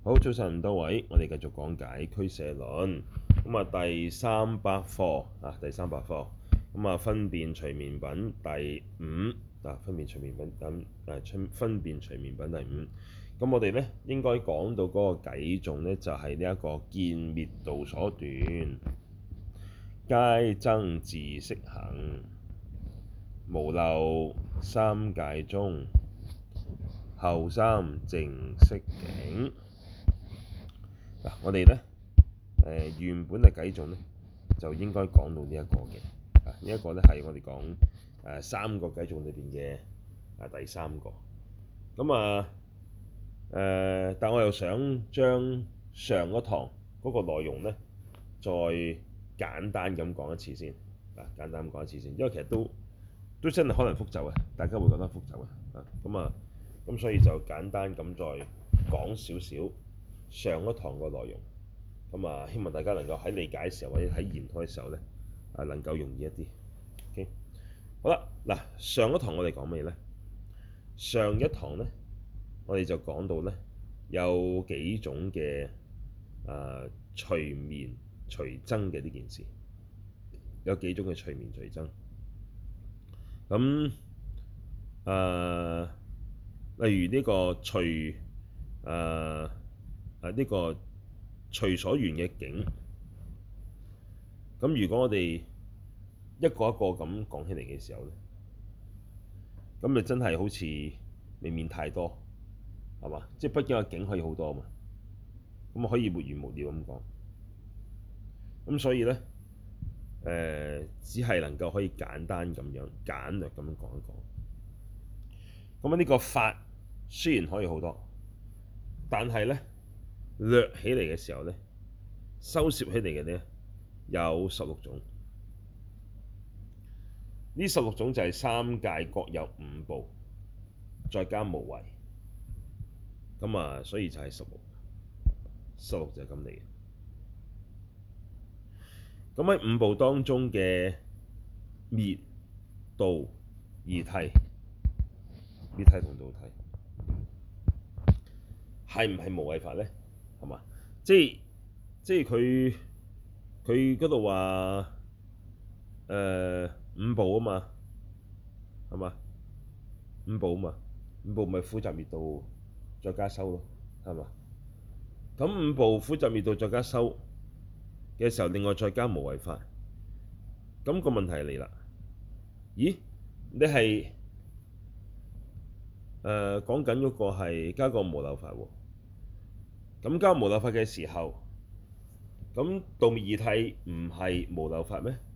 好，早晨多位，我哋繼續講解俱舍論。咁第三百課第三百課分別隨眠品第五分別隨眠品分別隨眠品第五。咁我哋咧應該講到嗰個偈頌咧，就係呢一個見滅道所斷，皆增自色行，無漏三界中，後三淨色境。我哋咧原本嘅偈頌咧就應該講到呢一個嘅，呢一個咧係我哋講三個偈頌裏邊嘅第三個。但我又想將上一堂嗰個內容咧再簡單咁講一次先，簡單咁講一次先，因為其實都真係可能複雜嘅，大家會覺得複雜嘅，咁所以就簡單咁再講少少上一堂個內容。希望大家能夠喺理解嘅時候或者喺研開嘅時候咧能夠容易一啲。OK， 好啦，嗱，上一堂我哋講咩咧？上一堂咧我哋就講到咧有幾種嘅隨眠隨增嘅呢件事，有幾種嘅隨眠隨增。例如呢個隨呢個隨所緣嘅境。咁如果我哋一個一個咁講起嚟嘅時候咧，咁就真係好似未免太多，係嘛？即係畢竟個境可以好多啊嘛，咁可以沒完沒了咁講。咁所以咧只係能夠可以簡單咁樣簡略咁樣講一講。咁呢個法雖然可以好多，但係咧略起嚟嘅時候咧，收攝起嚟嘅咧有16種。呢16種就係三界各有5部，再加無為。所以就係16就係咁嚟嘅。咁喺5部當中嘅滅、道、二諦，滅諦同道諦係唔係無為法咧？係嘛？即係佢嗰度話5部啊嘛，係嘛？5部啊嘛，5部咪苦集滅道再加修咯，係嘛？咁5部苦集滅道再加修嘅時候，另外再加無為法。咁個問題嚟啦，咦？你係講緊嗰個係加個無漏法喎？咁加無漏法嘅時候，咁道滅二諦唔係無漏法咩？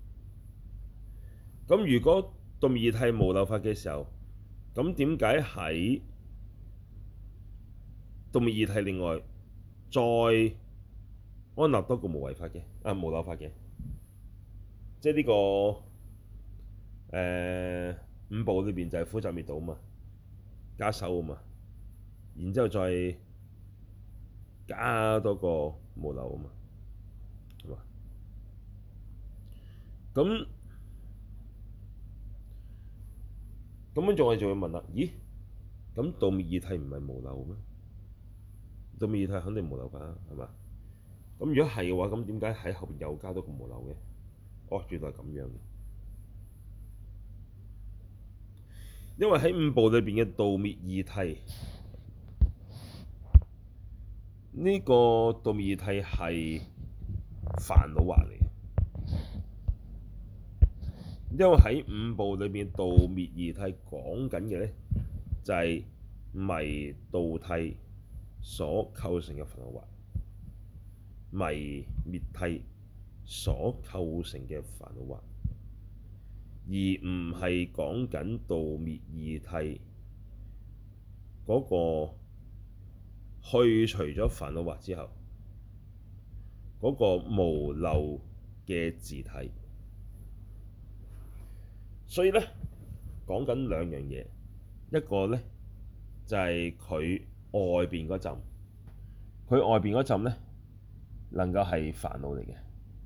咁如果道滅二諦無漏法嘅時候，咁點解喺道滅二諦另外再安立多個無為法嘅無漏法嘅？即係呢個5部裏邊就係苦集滅道啊嘛，加修啊嘛，然之後再加多個無漏啊嘛，係嘛？咁樣我哋就會問啦，咦？咁道滅二諦唔係無漏咩？道滅二諦肯定無漏法，係嘛？咁如果係嘅話，咁點解喺後邊又加多個無漏嘅？哦，原來咁樣嘅。因為喺5部裏邊嘅道滅二諦，呢個道滅二諦係煩惱惑嚟嘅。因為喺5部裏邊道滅二諦講緊嘅咧，就係迷道諦所構成嘅煩惱惑，迷滅諦所構成嘅煩惱惑，而唔係講緊道滅二諦嗰個去除咗煩惱惑之後嗰個無漏嘅自體。所以咧講緊兩樣嘢，一個咧就係佢外邊嗰陣，佢外邊嗰陣咧能夠係煩惱嚟嘅，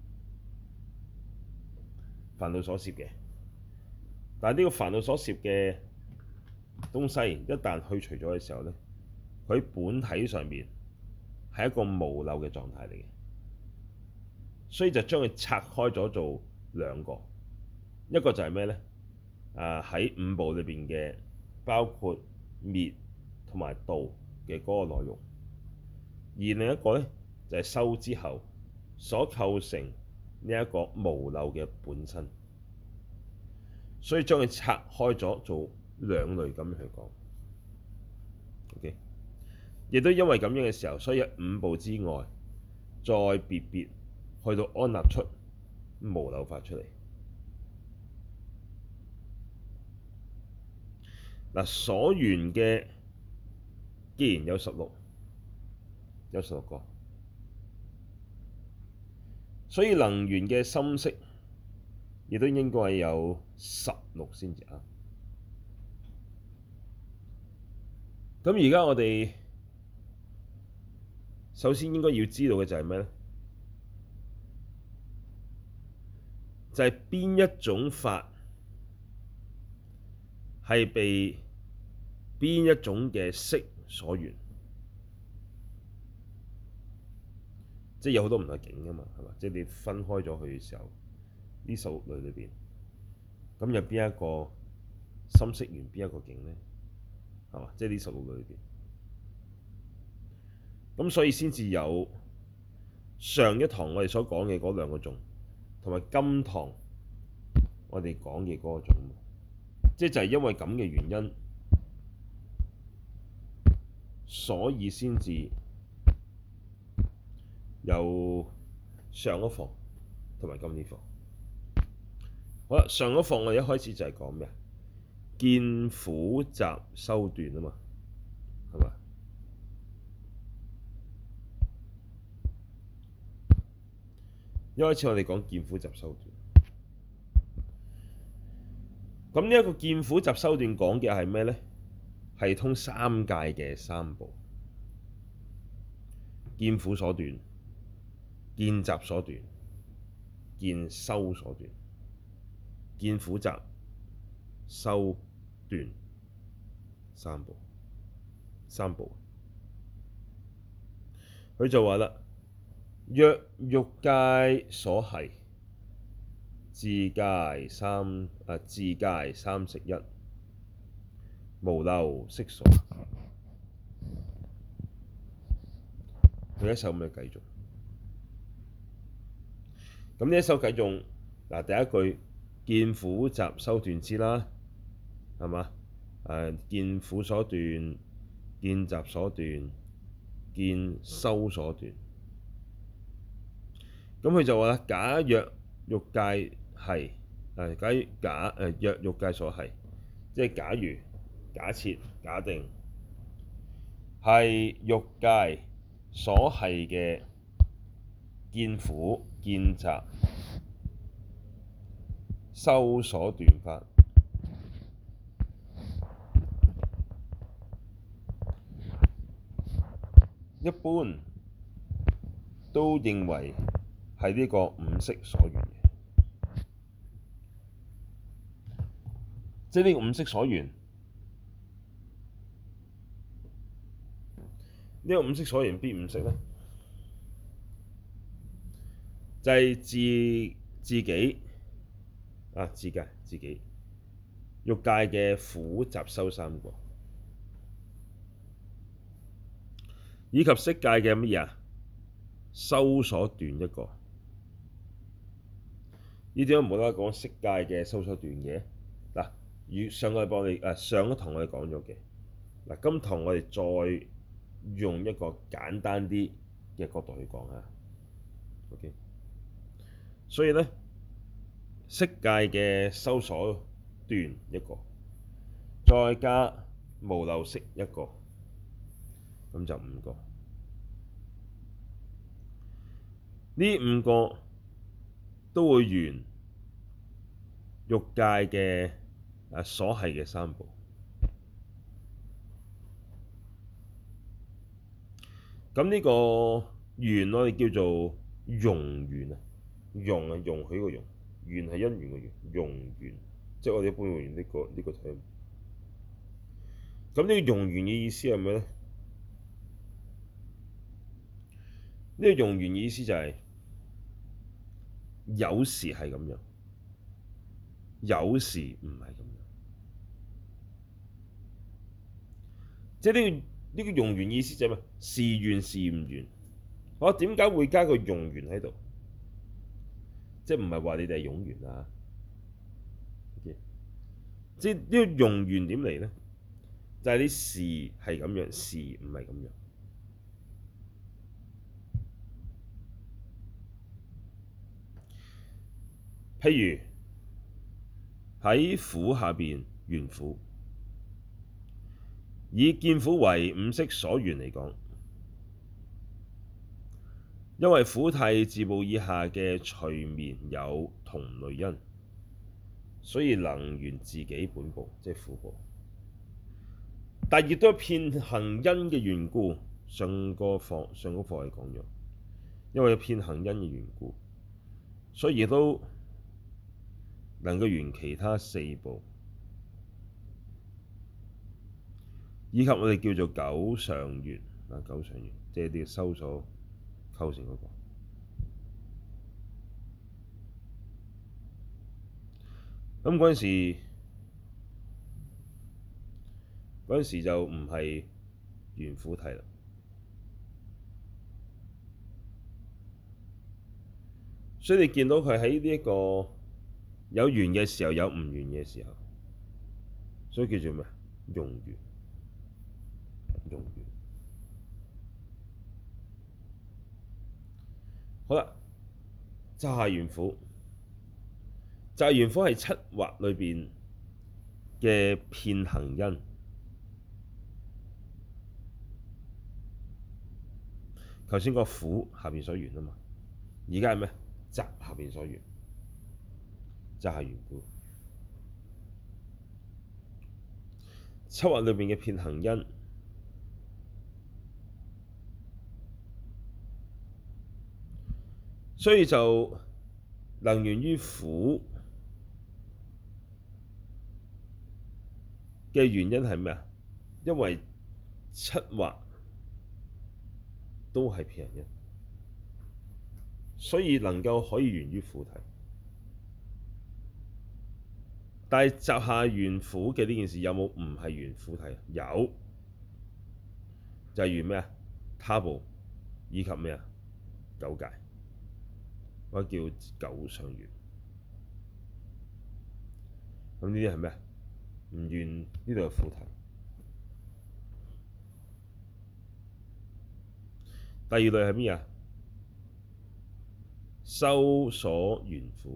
煩惱所攝嘅。但係呢個煩惱所攝嘅東西一旦去除咗嘅時候咧，佢本體上面係一個無漏嘅狀態嚟嘅，所以就將佢拆開咗做兩個，一個就係咩呢？喺五部裏邊嘅包括滅同埋道嘅嗰個內容，而另一個呢，就係修之後所構成呢一個無漏嘅本身，所以將佢拆開咗做兩類咁樣去講。OK，亦都因為咁樣嘅時候，所以喺五部之外，再別別去到安立出無漏法出嚟。嗱，所緣嘅既然有16個，所以能緣嘅心識亦都應該係有16先至啱。咁而家我哋首先應該要知道嘅就係咩呢？就係邊一種法係被邊一種嘅識所緣，即係有好多唔同嘅境㗎嘛，係嘛？即係你分開咗佢嘅時候，呢16類裏邊，咁有邊一個心識緣邊一個境呢？係嘛？即係呢16類裏邊，咁所以先至有上一堂我哋所講嘅嗰兩個種，同埋今堂我哋講嘅嗰個種，即係就係因為咁嘅原因，所以先至有上一課同埋今呢課。好啦，上一課我哋一開始就係講咩啊？見苦集修斷啊嘛，係嘛？一開始我哋講見苦集修斷，咁呢一個見苦集修斷講嘅係咩呢？係通三界嘅三部，見苦所斷、見集所斷、見修所斷。見苦集修斷三部，佢就話啦：若欲界所繫，自界三識一，無漏識所。佢一首咁嘅偈頌。咁呢一首偈頌，嗱，第一句見苦集修斷之啦，係嘛？見苦所斷、見集所斷、見修所斷。咁佢就話啦：假若欲界繫，若欲界所繫，即係假如、假設、假定係欲界所繫嘅見苦、見集、修所斷法，一般都認為係呢個五識所緣嘅，即係呢個五識所緣。呢個五識所緣邊五識呢？就係自己欲界嘅苦集修三個，以及色界嘅乜嘢啊？修所斷一個。呢點解無啦啦講色界嘅修所斷嘅？嗱，上個禮拜我哋上一堂我哋講咗嘅，嗱，今堂我哋再用一個簡單啲嘅角度去講下。OK，所以呢，色界嘅修所斷一個，再加無漏識一個，咁就5個。呢5個都會緣欲界嘅所繫嘅三部。咁呢個緣我哋叫做容緣啊，容係容許個容，緣係因緣個緣，容緣，即係我哋一般會用呢個 term。咁呢個容緣嘅意思係咩呢？ 呢個用緣意思就係有時係咁樣，有時唔係咁樣。即係呢個用緣意思就係咩？時緣時唔緣。我點解會加個用緣喺度？即係唔係話你哋係有緣啊？Okay? 即係呢個用緣點嚟咧？就係你時係咁樣，時唔係咁樣。譬如喺苦下邊緣苦，以見苦為五識所緣嚟講，因為苦諦自部以下嘅隨眠有同類因，所以能緣自己本部，即係苦部。但亦都係遍行因嘅緣故，上個課係講咗，因為遍行因嘅緣故，所以亦都能夠緣其他四部，以及我哋叫做九上緣啊，九上緣即係啲修所構成嗰個。咁嗰陣時就唔係緣苦諦啦，所以你見到佢喺呢一個有緣嘅時候，有唔緣嘅時候，所以叫做咩？用緣，用緣。好啦，集下緣苦，集下緣苦係七惑裏邊嘅遍行因。頭先個苦下邊所緣啊嘛，而家係咩？集下邊所緣，集下緣苦。七惑裏邊嘅遍行因，所以就能緣於苦嘅原因係咩啊？因為七惑都係遍行因，所以能夠可以緣於苦諦。但係集下緣苦嘅呢件事有冇唔係緣苦諦？有，就係緣咩啊？他部以及咩啊？九界，或者叫九上緣。咁呢啲係咩啊？唔緣呢度係苦諦。第二類係咩啊？修所緣苦。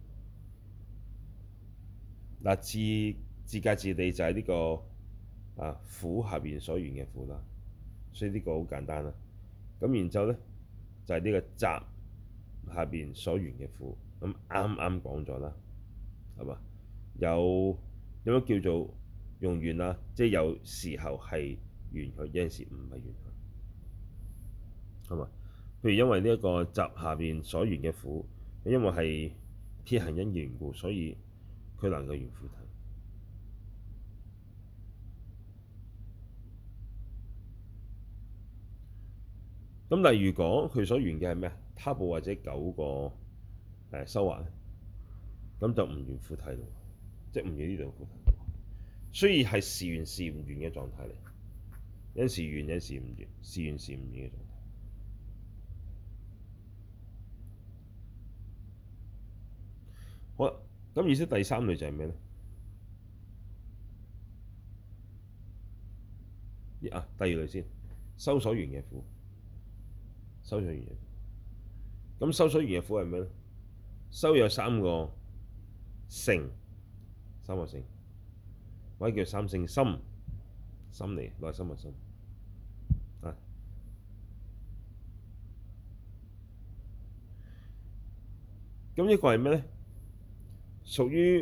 嗱，自界自地就係呢個苦下邊所緣嘅苦啦，所以呢個好簡單啦。咁然之後咧就係呢個集下邊所緣嘅苦，咁啱啱講咗啦，係嘛？有乜叫做用緣啊？即係有時候係緣佢，有陣時唔係緣佢，係嘛？譬如因為呢一個集下邊所緣嘅苦，因為係遍行因嘅緣故，所以佢能夠緣苦諦。咁但係如果佢所緣嘅係咩啊？他部或者九個修惑咧，咁就唔緣苦諦咯，即係唔緣呢度苦諦。所以係時緣時唔緣嘅狀態嚟，有時緣有時唔緣，時緣時唔緣嘅狀態。好啦，咁意思第三類就係咩咧？第二類先，修所緣嘅苦，修所緣嘅苦。咁修所緣嘅苦係咩咧？修有三個性，三個性，或者叫三性心，心嚟，內心嘅心啊。咁呢個係咩咧？屬於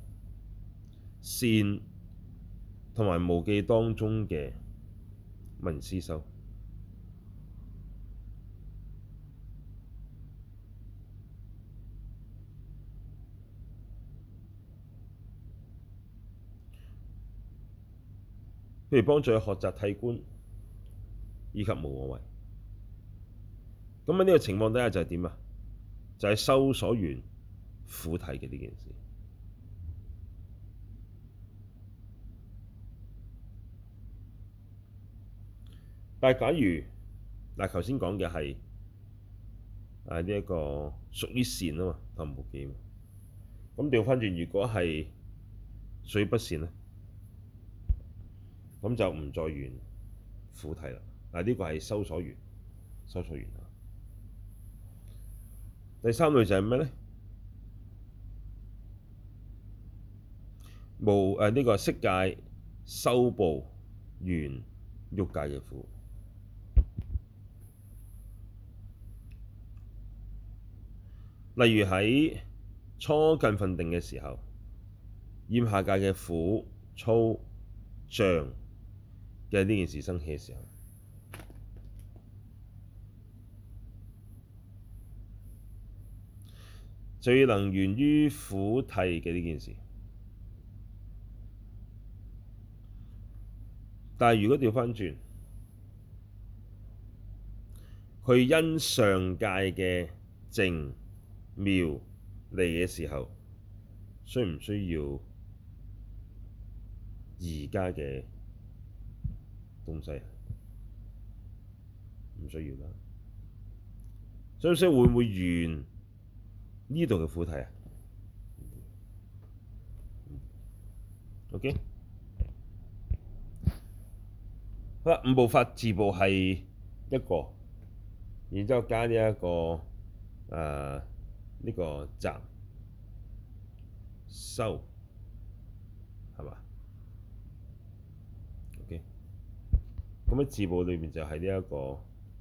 善同埋無記當中嘅聞思修。譬如幫助佢學習諦觀以及無我位。 咁喺呢個情況底下就係點啊？就係修所緣苦諦嘅呢件事。但係假如嗱，頭先講嘅係呢一個屬於善啊嘛，頭目記嘛。咁調翻轉，如果係屬於不善咧，咁就唔再緣苦諦啦。嗱，呢個係修所緣，修所緣啊。第三類就係咩咧？呢個色界修部緣欲界嘅苦。例如喺初近分定嘅時候，厭下界嘅苦、粗、障嘅呢件事生起嘅時候，最能緣於苦諦嘅呢件事。但係如果調返轉，佢因上界嘅靜妙嚟嘅時候，需唔需要而家嘅東西？唔需要啦。所以會唔會緣呢度嘅苦諦啊？OK， 好啦，五部法自部係一個，然之後加呢一個呢個集修係嘛？OK，咁喺自部裏面就係呢一個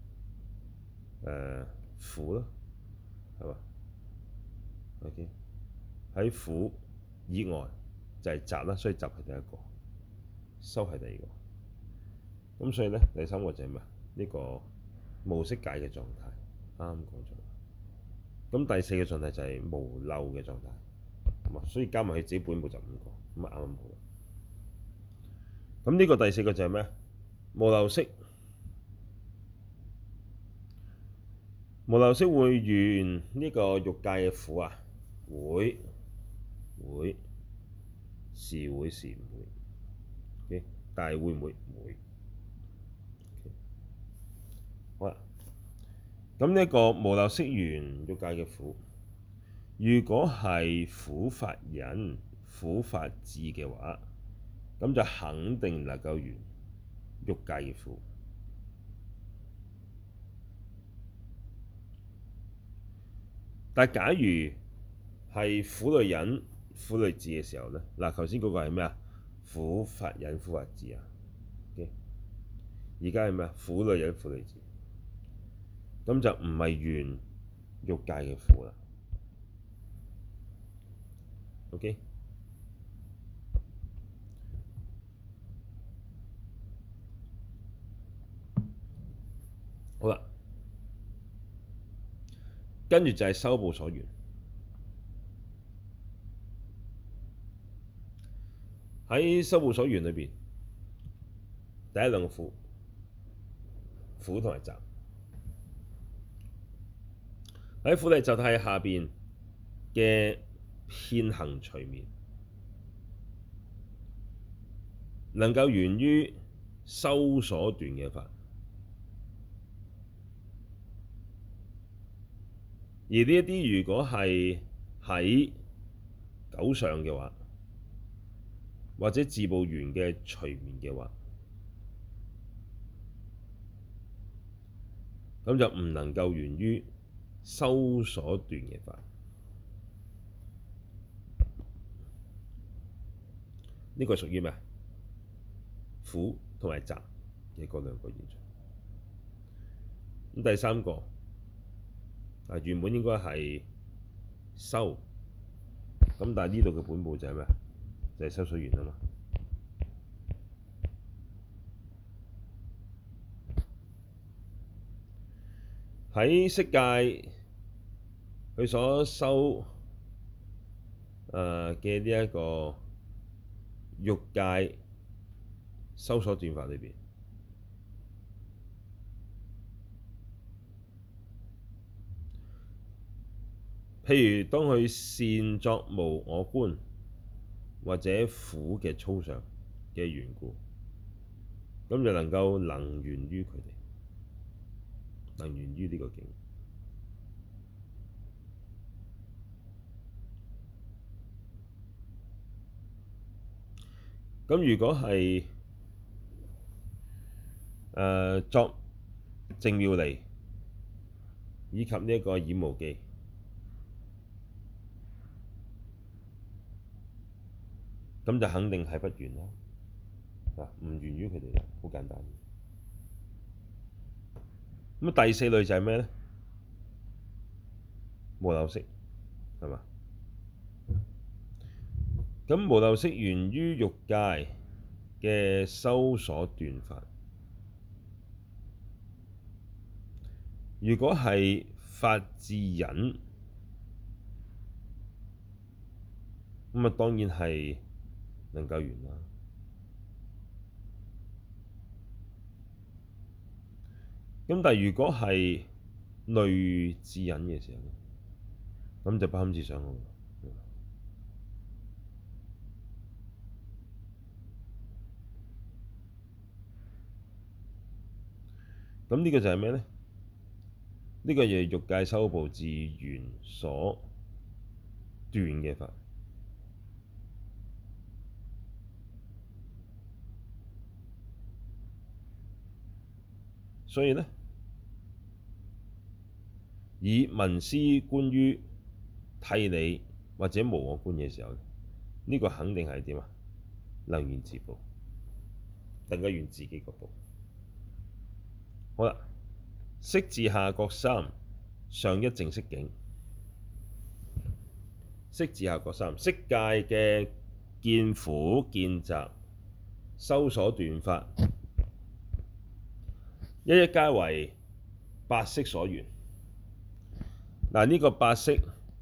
苦咯，係嘛？OK，喺苦以外就係集啦，所以集係第一個，修係第二個。咁所以咧，第三個就係咩？呢個無色界嘅狀態，啱啱講咗。咁第四個狀態就係無漏嘅狀態，咁啊，所以加埋佢自己本部就五個，咁啊啱啱好。咁呢個第四個就係咩？無漏色，無漏色會緣呢個欲界嘅苦啊？會，是會是唔會？但係會唔會？唔會。好啦，咁呢個無漏色緣欲界嘅苦，如果係苦法忍、苦法智嘅話，咁就肯定能夠緣欲界嘅苦。但係假如係苦類忍、苦類智嘅時候咧，嗱，頭先嗰個係咩啊？苦法忍、苦法智啊。而家係咩啊？苦類忍、苦類智，咁就唔係緣欲界嘅苦啦。OK，好啦，跟住就係修部所緣。喺修部所緣裏邊，第一兩個苦同埋集。喺苦諦集諦下邊嘅遍行隨眠，能夠緣於修所斷嘅法。而呢一啲如果係喺九相嘅話，或者自部緣嘅隨眠嘅話，咁就唔能夠緣於修所斷嘅法。呢個屬於咩？苦同埋集嘅嗰兩個現象。咁第三個原本應該係修，咁但係呢度嘅本部就係咩？就係修所緣啊嘛。喺色界佢所修嘅呢一個欲界修所斷法裏邊， 譬如當佢善作無我觀或者苦嘅粗相嘅緣故，咁就能夠能緣於佢哋，能緣於呢個境。咁如果係作淨妙離以及呢一個染無記，咁就肯定係不緣啦。唔緣於佢哋啦，好簡單。咁第四類就係咩咧？無漏色，係嘛？咁無漏色緣於欲界嘅修所斷法。如果係法智忍，咁啊當然係能夠緣啦。咁但係如果係類智忍嘅時候咧，咁就不堪設想咯。咁呢個就係咩咧？呢個就係欲界修部自緣所斷嘅法。所以咧，以聞思觀於諦理或者無我觀嘅時候，呢個肯定係點啊？能緣自部，能夠緣自己個部。好啦，色治下各三，上一淨色境。色治下各三，色界嘅見苦見集修所斷法，一一皆為八識所緣。嗱，呢個八識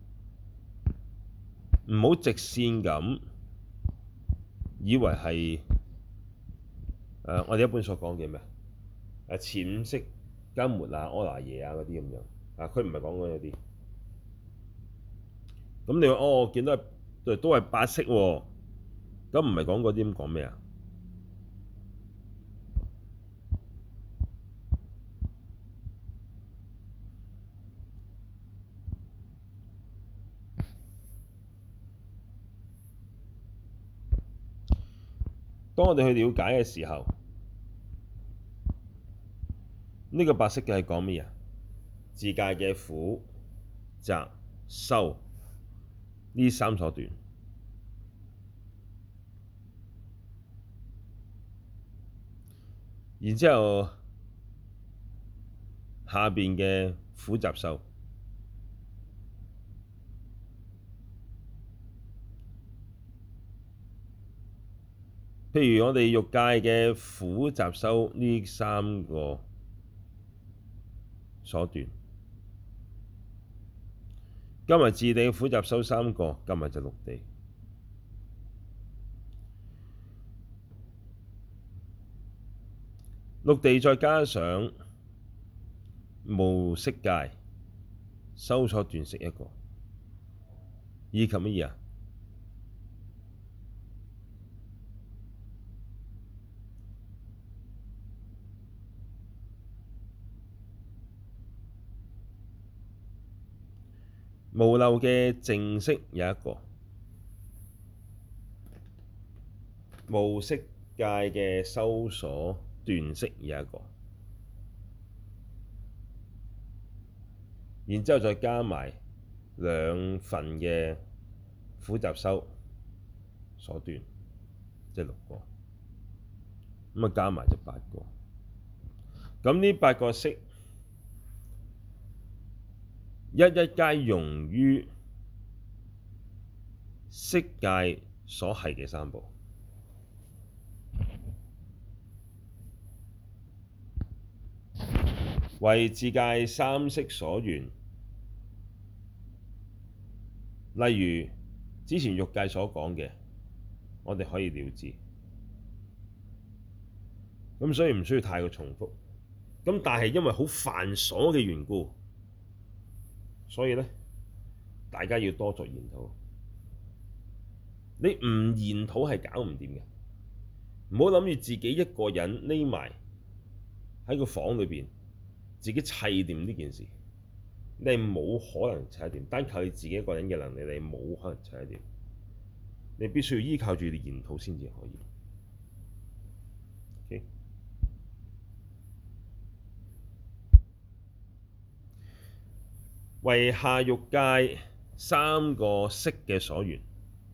唔好直線咁以為係我哋一般所講嘅咩前五識緘默啊、阿賴耶啊嗰啲咁樣佢唔係講嗰啲。咁你話我見到都係八識喎，咁唔係講嗰啲，咁講咩啊？當我哋去了解嘅時候，呢個八識嘅係講咩啊？自界嘅苦、集、修呢三所斷，然之後下邊嘅苦集修，譬如我哋欲界嘅苦集修呢三個所斷，加埋自地嘅苦集修三個，加埋就六地。六地再加上無色界修所斷識一個，以及乜嘢啊？無漏嘅淨識有一個，無色界嘅修所斷識有一個，然之後再加埋兩份嘅苦集修所斷，即係六個，咁啊加埋就八個。咁呢八個識一一皆融於色界所繫嘅三部，為自界三識所緣。例如之前欲界所講嘅，我哋可以了知。咁所以唔需要太過重複。咁但係因為好繁瑣嘅緣故，所以咧大家要多作研討。你唔研討係搞唔掂嘅。唔好諗住自己一個人匿埋喺個房裏邊，自己砌掂呢件事，你係冇可能砌得掂。單靠你自己一個人嘅能力，你冇可能砌得掂。你必須要依靠住你研討先至可以。Okay? 為下欲界三個色嘅所緣，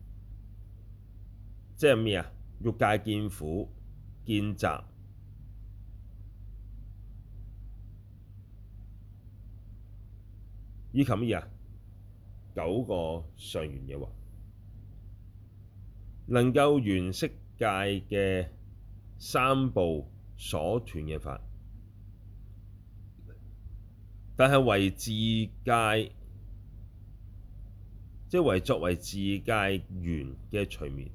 即係咩啊？欲界見苦、見集，以及咩啊？9個上緣嘅話，能夠緣色界嘅三部所斷嘅法，但係為自界，即係為作為自界緣嘅隨眠，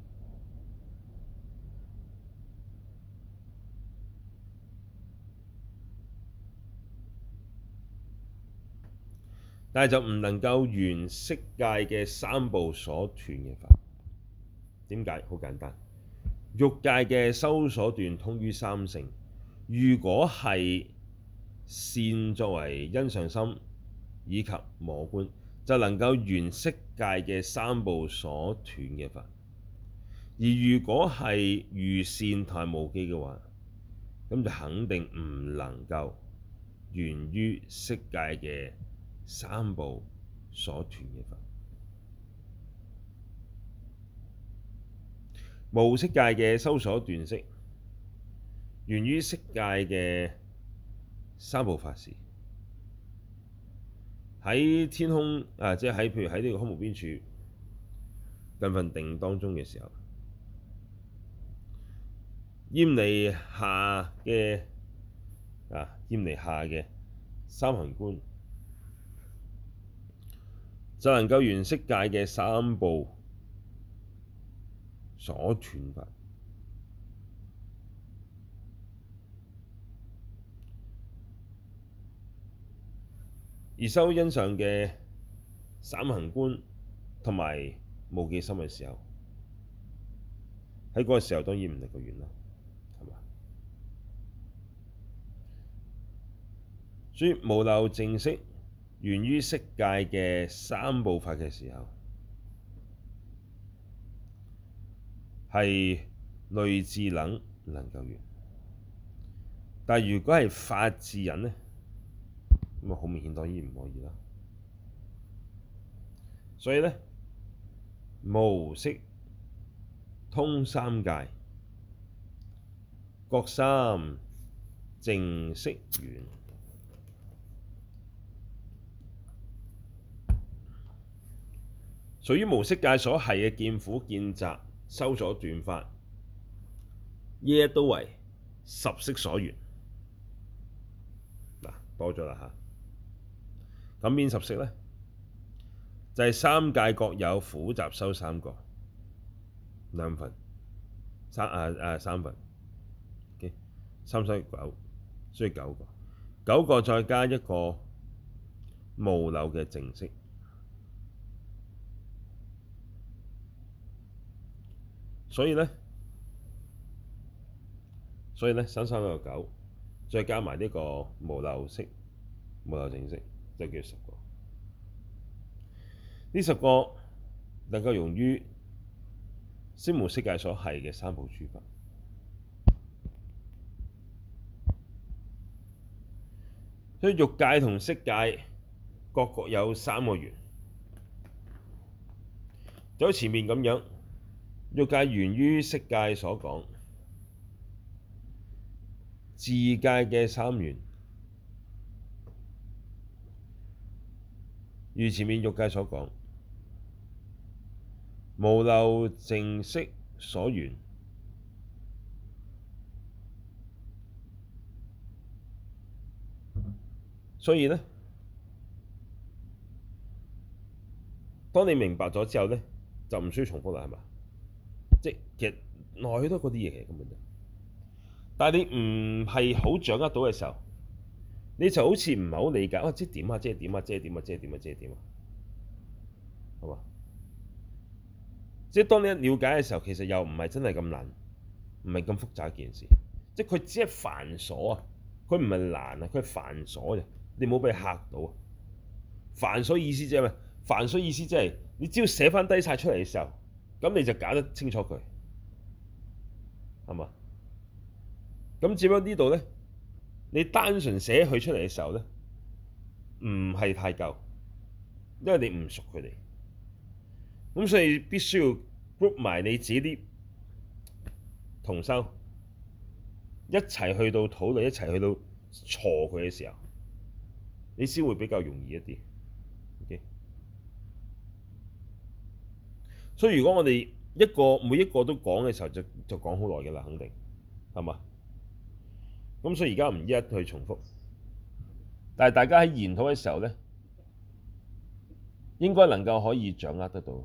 但係就唔能夠緣色界嘅三部所斷嘅法。點解？好簡單，欲界嘅修所斷通於三乘，如果係善作為欣賞心以及摸觀，就能夠緣色界嘅三部所斷嘅法；而如果係餘善同埋無記嘅話，咁就肯定唔能夠緣於色界嘅三部所斷嘅法。無色界嘅修所斷識，緣於色界嘅三部法時，喺天空即係譬如喺呢個空無邊處近分定當中嘅時候，厭離下嘅厭離下嘅三行觀，就能夠緣色界嘅三部所斷法。而修欣賞嘅三行觀同埋無記心嘅時候，喺嗰個時候當然唔能夠緣啦，係嘛？所以無漏淨識緣於色界嘅三部法嘅時候，係類智等能夠緣，但係如果係法智人呢，咁啊好明顯當然唔可以啦。所以呢，無色通三界，各三淨識緣。屬於無色界所繫嘅見苦見集修所斷法，呢一都為十識所緣。多咗啦嚇。咁邊十識呢？就係三界各有苦集修三個兩分三分。Okay? 三三九，所以9個，9個再加一個無漏嘅淨識。所以呢，三三九9，再加埋呢個無漏識、無漏淨識，就叫10個。呢10個能夠融於色無色界所繫嘅三部諸法。所以欲界同色界各有3個緣，就好似前面咁樣。欲界緣於色界所講，自界嘅三緣，如前面欲界所講，無漏淨識所緣。所以呢，當你明白咗之後呢，就唔需要重複啦，係嘛？即其實來去都嗰啲嘢嘅根本就，但係你唔係好掌握到嘅時候，你就好似唔係好理解，即係點啊，即係點啊，即係點啊，即係點啊，即係點啊。 係嘛？即係當你一了解嘅時候，其實又唔係真係咁難，唔係咁複雜一件事。即係佢只係繁瑣啊，佢唔係難啊，佢係繁瑣啫。你唔好俾佢嚇到啊！繁瑣意思即係咩？繁瑣意思即係你只要寫翻低晒出嚟嘅時候，咁你就搞得清楚佢，係嘛？咁只不過呢度咧，你單純寫佢出嚟嘅時候咧，唔係太夠，因為你唔熟佢哋，咁所以必須要 group 埋你自己啲同修一齊去到討論，一齊去到鋤佢嘅時候，你先會比較容易一啲。Okay? 所以如果我哋每一個都講嘅時候，就講好耐嘅啦，肯定係嘛？咁所以而家唔一一去重複，但係大家喺研討嘅時候咧，應該能夠可以掌握得到。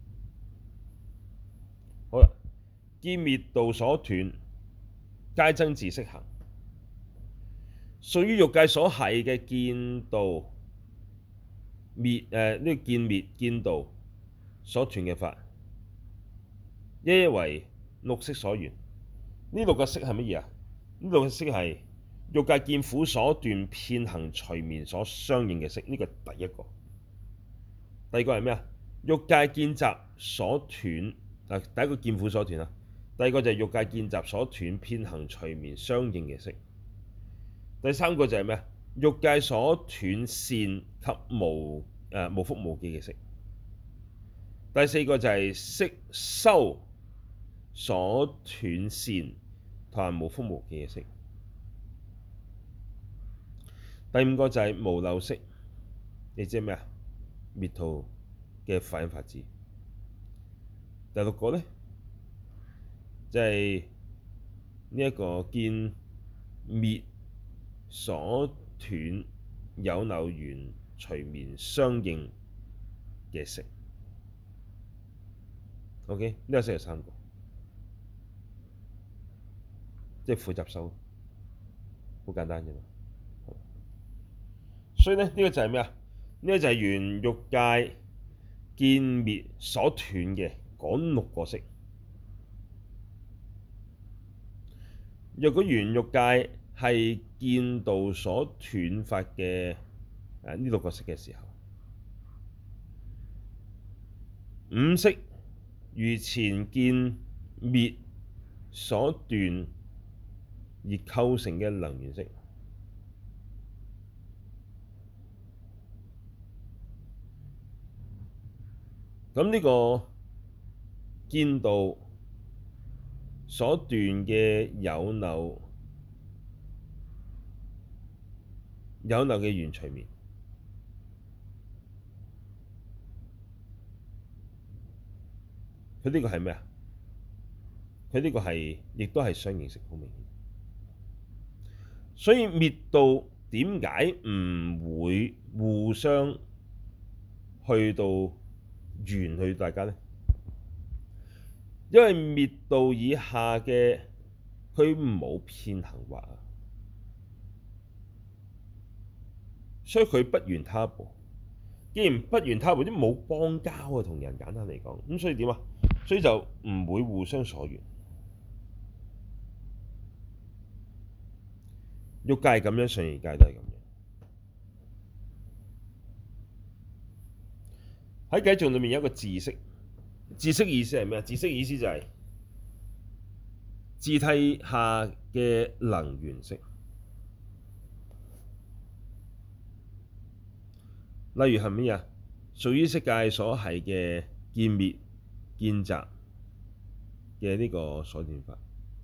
好啦，見滅道所斷，皆增自色行。屬於欲界所繫嘅見道滅呢個見滅見道所斷嘅法，一一為六識所緣。呢六個識係乜嘢啊？呢六個識係欲界見苦所斷遍行隨眠所相應嘅識，呢個第一個。第二個係咩啊？欲界見集所斷第一個見苦所斷啊。第二個就係欲界見集所斷遍行隨眠相應嘅識。第三個就係咩啊？欲界所斷善及無覆無記嘅識。第四個就係識修所斷善同埋無覆無記嘅識。第五個就係無漏識，你知係咩啊？滅途嘅法忍法智。第六個咧就係呢一個見滅所斷有漏緣隨眠相應嘅識。OK，呢個識有三個，即係苦集修，好簡單啫嘛。所以咧，呢個就係咩啊？呢個就係緣欲界見滅所斷嘅嗰六個識。若果緣欲界係見道所斷法嘅呢六個識嘅時候，五識如前見滅所斷而構成嘅能緣識。咁呢個見道所斷嘅有漏嘅緣隨眠，佢呢個係咩啊？佢呢個係亦都係相應識，好明顯。所以滅道點解唔會互相去到緣去大家呢？因為滅道以下嘅佢冇遍行惑啊，所以佢不緣他部。既然不緣他部，即冇邦交啊，同人簡單嚟講，咁所以點啊？所以就唔會互相所緣。欲界係咁樣，上二界都係咁樣。喺偈頌裏面有一個自識，自識意思係咩啊？自識意思就係自諦下嘅能緣識。例如係乜嘢？屬於色界所繫嘅見滅見集嘅呢個所斷法。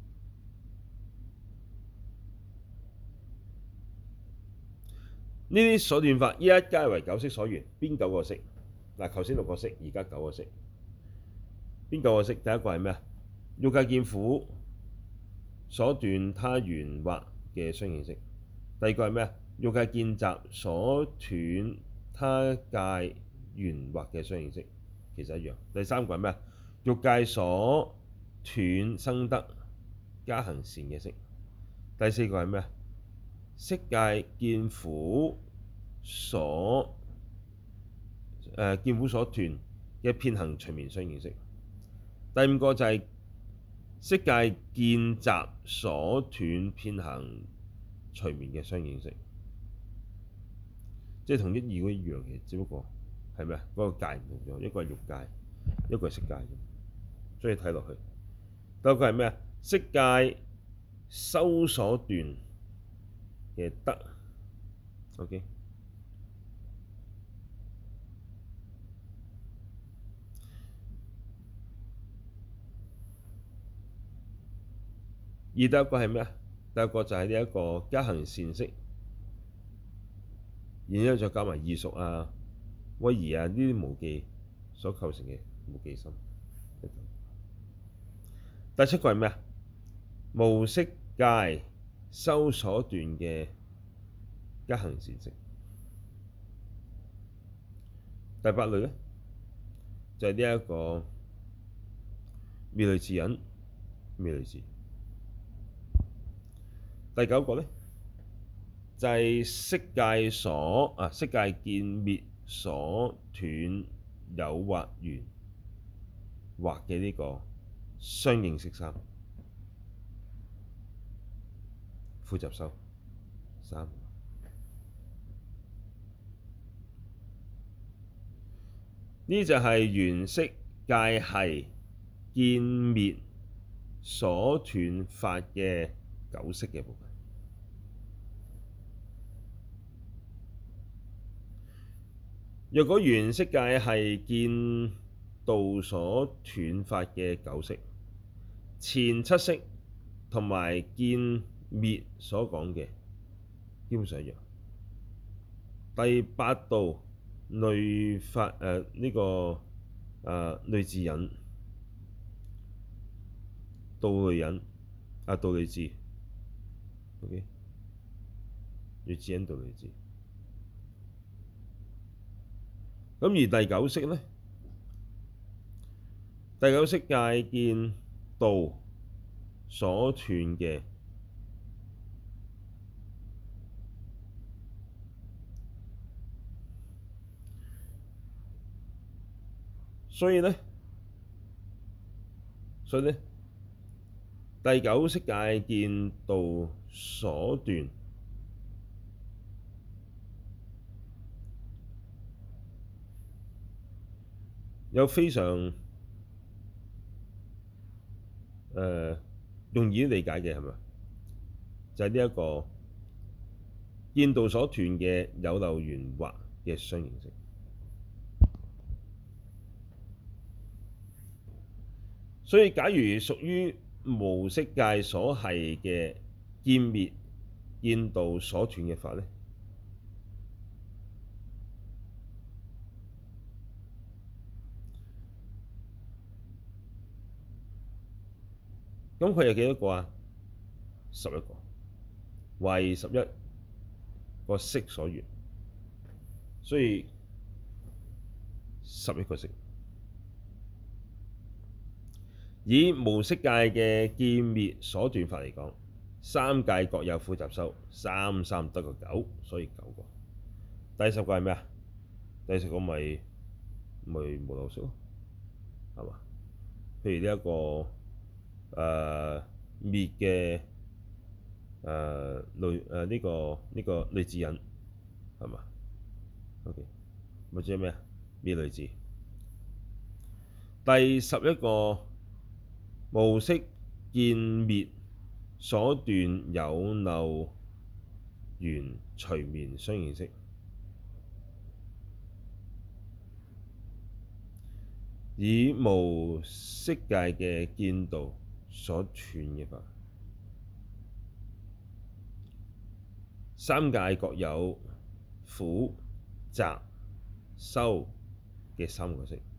呢啲所斷法一一皆為九識所緣。邊九個識？嗱，頭先六個識，而家九個識。邊九個識？第一個係咩啊？欲界見苦所斷他緣惑嘅相應識。第二個係咩啊？欲界見集所斷他界緣惑嘅相應識，其實一樣。第三個係咩啊？欲界所斷生得加行善嘅識。第四個係咩啊？色界見苦所見苦所斷嘅遍行隨眠相應識。第五個就係色界見集所斷遍行隨眠嘅相應識，即係同一二嗰一樣嘅，只不過係咩啊？嗰個界唔同咗，一個係欲界，一個係色界啫。所以睇落去，第六個係咩啊？色界修所斷嘅得。OK。而第一個係咩啊？第一個就係呢一個加行善識，然之後再加埋異熟啊、威儀啊呢啲無記所構成嘅無記心。第七個係咩啊？無色界修所斷嘅加行善識。第八類咧就係呢一個妙類自隱、妙類自。第九個咧就係色界色界見滅所斷有或緣惑嘅呢個相應識三，苦集修三。呢就係緣色界係見滅所斷法嘅九識嘅部分。若果緣色界係見道所斷法嘅九識，前七識同埋見滅所講嘅基本上一樣。第八道類法呢個類自隱、道類隱道類自。OK， 類自隱、道類自。咁而第九識呢？第九識界見道所斷嘅所以呢，第九識界見道所斷有非常容易理解嘅係咪？就係呢一個見道所斷嘅有漏緣惑嘅相應識。所以假如屬於無色界所係嘅見滅見道所斷嘅法呢，咁佢有幾多個啊？11個，為11個識所緣，所以11個識。以無色界嘅見滅所斷法嚟講，三界各有苦集修，三三得個9，所以9個。第10個係咩啊？第10個咪無漏識咯，係嘛？譬如呢一個滅嘅呢個類自隱係嘛？OK，或者咩啊？滅類自。第11個無色見滅所斷有漏緣隨眠相應識。以無色界嘅見道所斷嘅法，三界各有苦集修嘅三個識。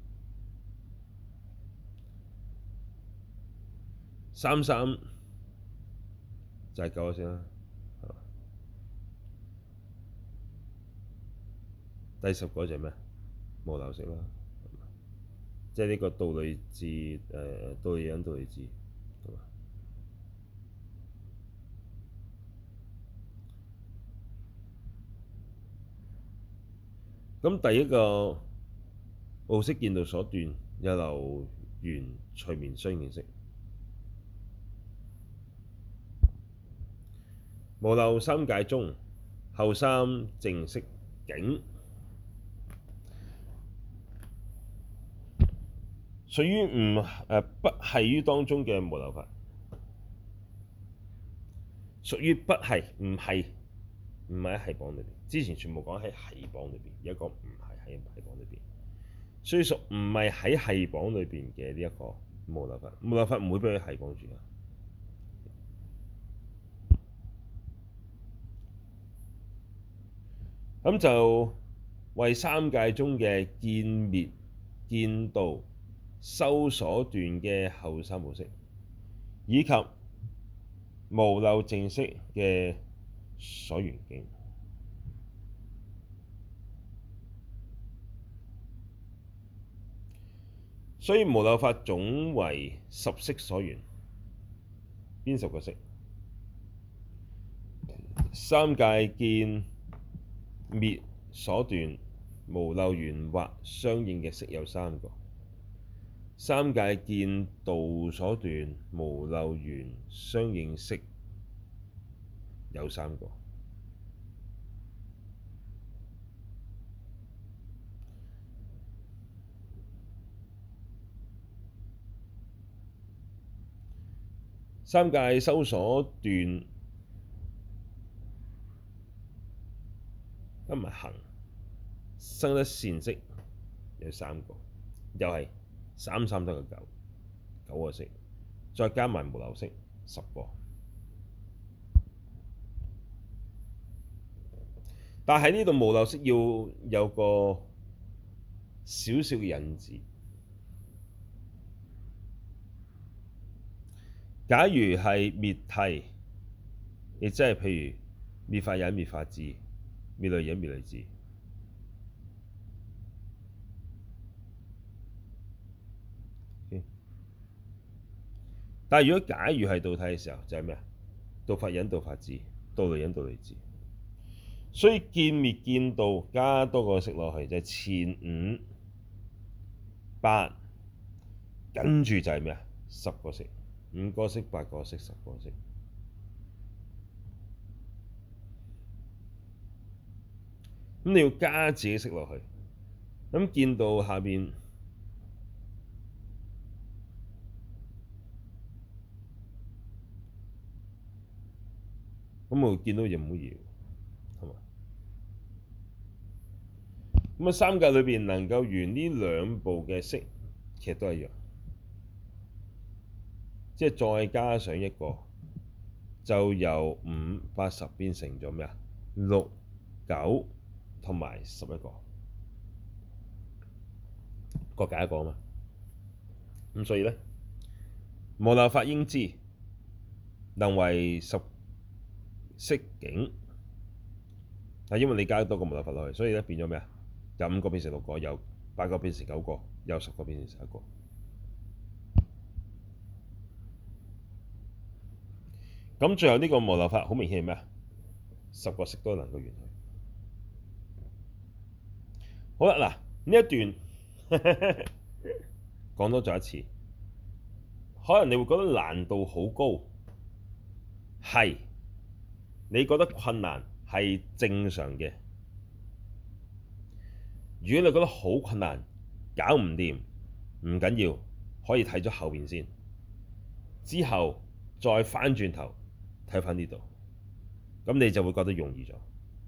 三三就係9個識啦，係嘛？第10個就係咩？無漏識啦，即係呢個道類自道類隱、道類自，係嘛？咁第一個奧識見道所斷有漏緣隨眠相應識。無漏三界中，後三淨色境，屬於不繫於當中嘅無漏法，屬於不繫，唔係喺繫縛裏邊。之前全部講喺繫縛裏邊，而家講唔係喺繫縛裏邊，所以屬唔係喺繫縛裏邊嘅呢一個無漏法。無漏法唔會俾佢繫綁住啊。咁就為三界中嘅見滅見道修所斷嘅後三寶識，以及無漏淨色嘅所緣境。所以無漏法總為十識所緣。邊10個識？三界見滅所斷無漏緣或相應嘅識有3個，三界見道所斷無漏緣相應識有3個。三界修所斷加埋行生得善識有3個，又係3、3得個9個識，再加埋無漏識10個。但係呢度無漏識要有個少少嘅引子。假如係滅諦，亦即係譬如滅法忍、滅法智、滅類忍、滅類智。但係如果假如係道諦嘅時候，就係咩啊？道法忍、道法智、道類忍、道類智。所以見滅見道加多個識落去，就係前5、8，跟住就係咩啊？10個識，5個識、8個識、10個識。咁你要加自己識落去。咁見道下邊咁我見到嘢唔好搖，係嘛？咁啊，三界裏邊能夠緣呢兩部嘅識，其實都一樣，即係再加上一個，就由5、8、10變成咗咩啊？6、9同埋11個，各解一個啊嘛。咁所以咧，無漏法應知，能為十識境。但因為你加多個無漏法落去，所以咧變咗咩啊？由5個變成6個，由8個變成9個，由10個變成11個。咁最後呢個無漏法好明顯係咩啊？10個識都能夠緣去。好啦，嗱呢一段講多咗一次，可能你會覺得難度好高，係你覺得困難係正常嘅。如果你覺得好困難，搞唔掂，唔緊要，可以睇咗後邊先，之後再翻轉頭睇翻呢度，咁你就會覺得容易咗。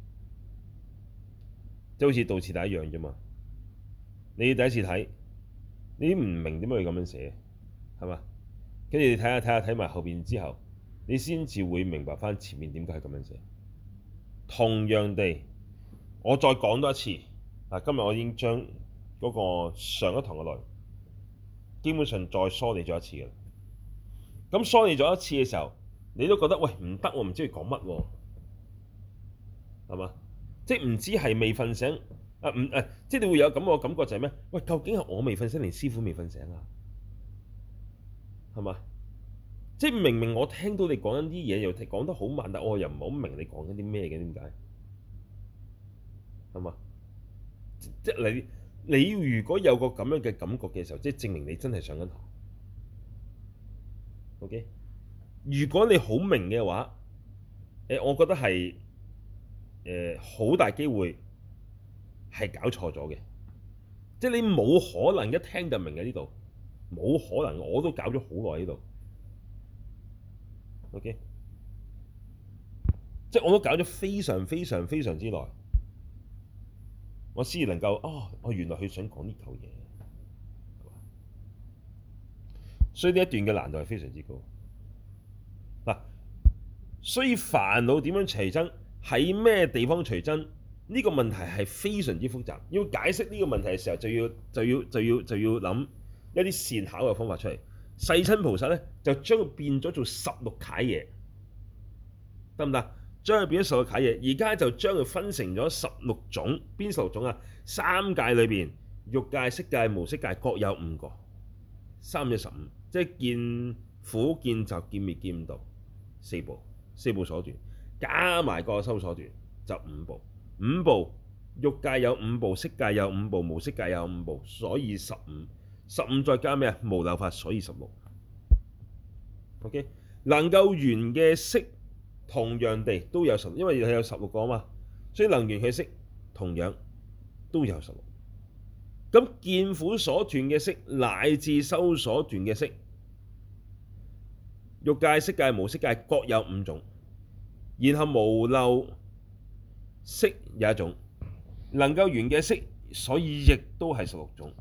即係好似道次第一樣啫嘛。你第一次睇，你唔明點解佢咁樣寫，係嘛？跟住你睇埋後邊之後，你先至會明白翻前面點解係咁樣寫。同樣地，我再講多一次。今日我已經將嗰個上一堂嘅內容基本上再梳理咗一次嘅啦。咁梳理咗一次嘅時候，你都覺得喂唔得，我唔知佢講乜喎，係嘛？即係唔知係未瞓醒即係你會有咁個感覺就係咩？喂，究竟係我未瞓醒，定師傅未瞓醒啊？係嘛？即係明明我聽到你講緊啲嘢，又講得好慢，但我又唔係好明你講緊啲咩嘅，點解？係嘛？即係你如果有個咁樣嘅感覺嘅時候，即係證明你真係上緊堂。OK，如果你好明嘅話，我覺得係好大機會係搞錯咗嘅，即係你冇可能一聽就明嘅呢度，冇可能，我都搞咗好耐呢度。OK，即係我都搞咗非常非常非常之耐，我先能夠原來佢想講呢嚿嘢，所以呢一段嘅難度係非常之高。嗱，所以煩惱點樣隨增，喺咩地方隨增？呢個問題係非常之複雜。要解釋呢個問題嘅時候，就要諗一啲善巧嘅方法出嚟。世親菩薩咧就將佢變咗做16楷嘢，得唔得？將佢變咗16楷嘢，而家就將佢分成咗16種。邊16種啊？三界裏邊，欲界、色界、無色界各有5個，3、1、15，即係見苦、見集、見滅、見道4部，4部所斷，加埋個修所斷就5部。5部，欲界有5部，色界有5部，無色界有5部，所以15。15再加咩啊？無漏法，所以16。OK， 能夠緣嘅色同樣地都有16，因為佢有16個啊嘛，所以能緣嘅色同樣都有16。咁見苦所斷嘅色乃至修所斷嘅色，欲界、色界、無色界各有5種，然後無漏色有1種，能夠緣嘅色，所以亦都係16種。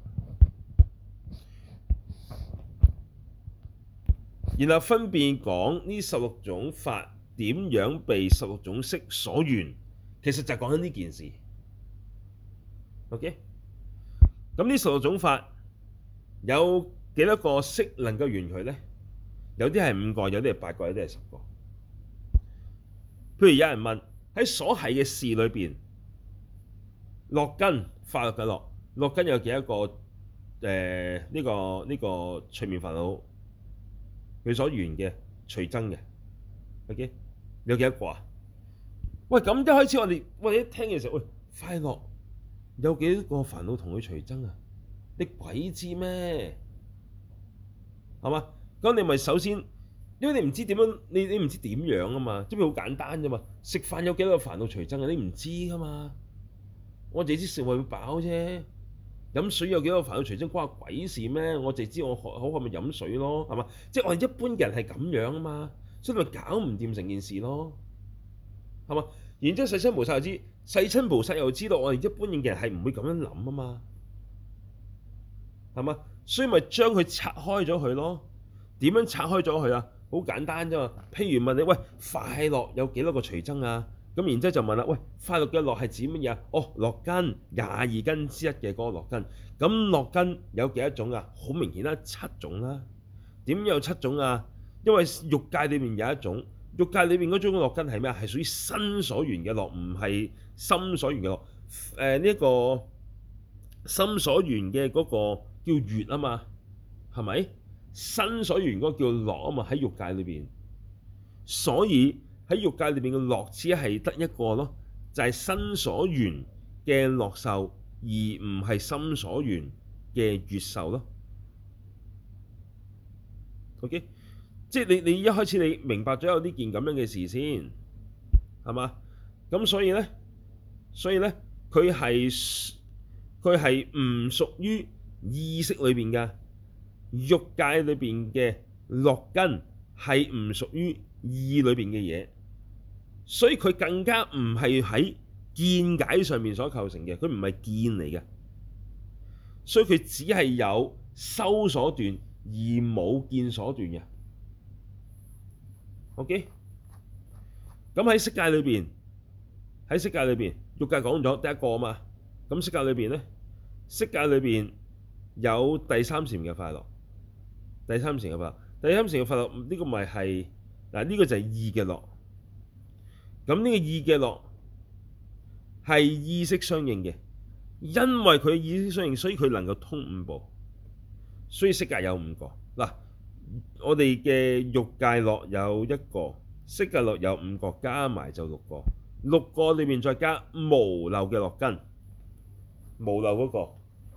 然後分別講呢16種法點樣被16種色所緣，其實就係講緊呢件事。OK， 咁呢16種法有幾多個色能夠緣佢呢？有啲係5個，有啲係8個，有啲係10個。譬如有人問喺所繫嘅事裏邊，樂根快樂嘅樂，樂根有幾多個？呢個隨眠煩惱佢所緣嘅隨增嘅 ，OK， 有幾多個啊？喂，咁一開始我哋一聽嘅時候，喂，快樂有幾多個煩惱同佢隨增啊？你鬼知咩？係嘛？咁你咪首先，因為你唔知點樣，你唔知點樣啊嘛，即係好簡單啫嘛。食飯有幾多個煩惱隨增啊？你唔知噶嘛。我淨知食為會飽啫。飲水有幾多個煩惱隨增關我鬼事咩？我淨知我好渴咪飲水咯，係嘛？即係我哋一般嘅人係咁樣啊嘛，所以咪搞唔掂成件事咯，係嘛？然之後世親菩薩又知，世親菩薩又知道我哋一般嘅人係唔會咁樣諗啊嘛，係嘛？所以咪將佢拆開咗佢咯。點樣拆開咗佢啊？好簡單啫嘛。譬如問你，喂，快樂有幾多個隨增啊？咁然之後就問啦，喂，快樂嘅樂係指乜嘢啊？樂根22根之一嘅嗰個樂根。咁樂根有幾多種啊？好明顯啦，7種啦。點有7種啊？因為欲界裏面有一種，欲界裏面嗰種樂根係咩啊？係屬於身所緣嘅樂，唔係心所緣嘅樂。呢個心所緣嘅嗰個叫悅啊嘛，係咪？身所緣嗰個叫樂啊嘛，喺欲界裏邊，所以喺欲界裏邊嘅樂只係得一個咯，就係身所緣嘅樂受，而唔係心所緣嘅悅受咯。OK， 即係你一開始你明白咗有呢件咁樣嘅事先，係嘛？咁所以咧佢係唔屬於意識裏邊嘅。欲界裏邊嘅樂根係唔屬於意裏邊嘅嘢，所以佢更加唔係喺見解上面所構成嘅，佢唔係見嚟嘅，所以佢只係有修所斷而冇見所斷嘅。OK， 咁喺色界裏邊，欲界講咗第一個啊嘛，咁色界裏邊咧，色界裏邊有第三禪嘅快樂。第三禪嘅快樂，呢個咪係嗱，呢個就係意嘅樂。咁呢個意嘅樂係意識相應嘅，因為佢意識相應，所以佢能夠通5部。所以色界有5個嗱，我哋嘅欲界樂有1個，色界樂有5個，加埋就6個。6個裏面再加無漏嘅樂根，無漏嗰個